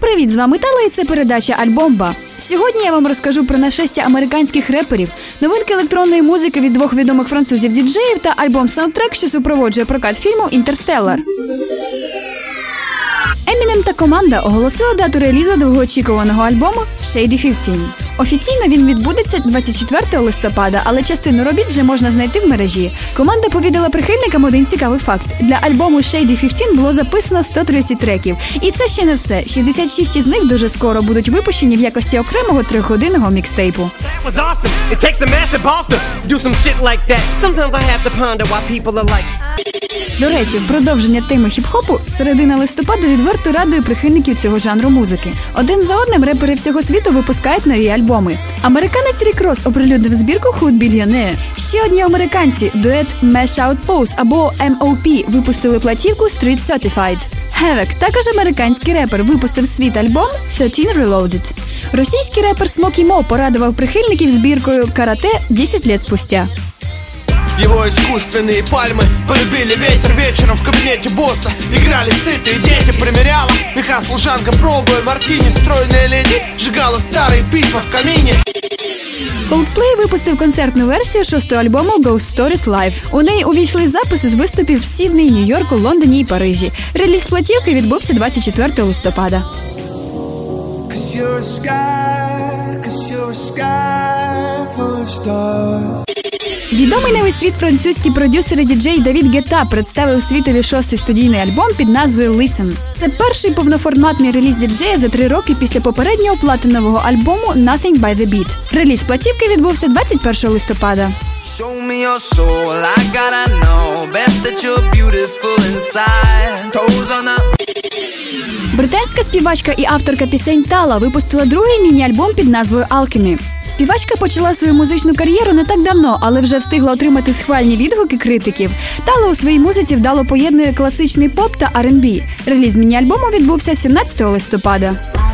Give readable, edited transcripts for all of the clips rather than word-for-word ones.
привіт! З вами Тала і це передача «Альбомба». Сьогодні я вам розкажу про нашестя американських реперів, новинки електронної музики від двох відомих французів-діджеїв та альбом-саундтрек, що супроводжує прокат фільму «Інтерстеллар». Емінем та команда оголосили дату релізу довгоочікуваного альбому «Shady 15». Офіційно він відбудеться 24 листопада, але частину робіт вже можна знайти в мережі. Команда повідала прихильникам один цікавий факт. Для альбому «Shady 15» було записано 130 треків. І це ще не все. 66 із них дуже скоро будуть випущені в якості окремого 3-годинного мікстейпу. До речі, в продовження теми хіп-хопу, середина листопада відверто радує прихильників цього жанру музики. Один за одним репери всього світу випускають нові альбоми. Американець Рік Росс оприлюднив збірку Hood Billionaire. Ще одні американці, дует Mash Out Pose або M.O.P. випустили платівку Street Certified. Havoc, також американський репер, випустив свій альбом 13 Reloaded. Російський репер Smokey Mo порадував прихильників збіркою «Карате 10 лет спустя». Его искусственные пальмы полюбили ветер вечером в кабинете босса. Играли сытые дети, примеряла меха служанка, пробуя мартини. Стройная леди сжигала старые письма в камине. Coldplay випустив концертну версію 6-го альбому Ghost Stories Live. У неї увійшли записи з виступів в Сіднеї, Нью-Йорку, Лондоні і Парижі. Реліз платівки відбувся 24 листопада. Відомий на весь світ французький продюсер і діджей Давід Гетта представив світові 6-й студійний альбом під назвою «Listen». Це перший повноформатний реліз діджея за 3 роки після попереднього платинового альбому «Nothing by the Beat». Реліз платівки відбувся 21 листопада. Британська співачка і авторка пісень Тала випустила другий міні-альбом під назвою «Alchemy». Співачка почала свою музичну кар'єру не так давно, але вже встигла отримати схвальні відгуки критиків. Тала у своїй музиці вдало поєднує класичний поп та R&B. Реліз міні-альбому відбувся 17 листопада.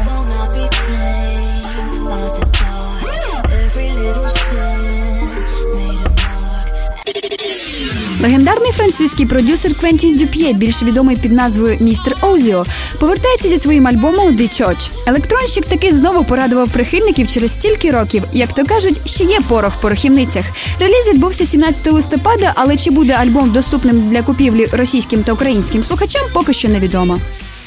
Легендарний французький продюсер Квентін Дюп'є, більш відомий під назвою «Містер Оузіо», повертається зі своїм альбомом «The Church». Електронщик таки знову порадував прихильників через стільки років. Як то кажуть, ще є порох в порохівницях. Реліз відбувся 17 листопада, але чи буде альбом доступним для купівлі російським та українським слухачам, поки що невідомо.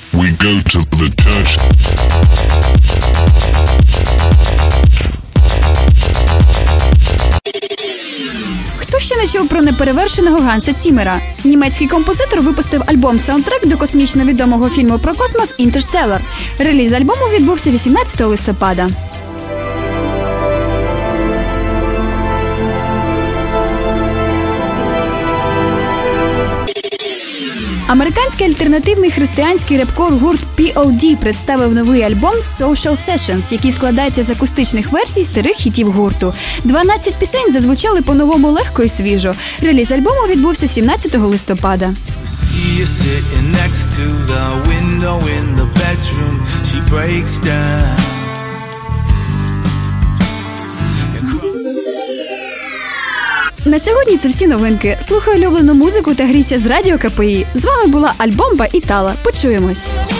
Хто ще не чув про неперевершеного Ганса Ціммера? Німецький композитор випустив альбом-саундтрек до космічно відомого фільму про космос «Інтерстеллар». Реліз альбому відбувся 18 листопада. Американський альтернативний християнський реп-кор гурт P.O.D. представив новий альбом Social Sessions, який складається з акустичних версій старих хітів гурту. 12 пісень зазвучали по-новому легко і свіжо. Реліз альбому відбувся 17 листопада. На сьогодні це всі новинки. Слухай улюблену музику та грійся з радіо КПІ. З вами була Альбомба і Тала. Почуємось!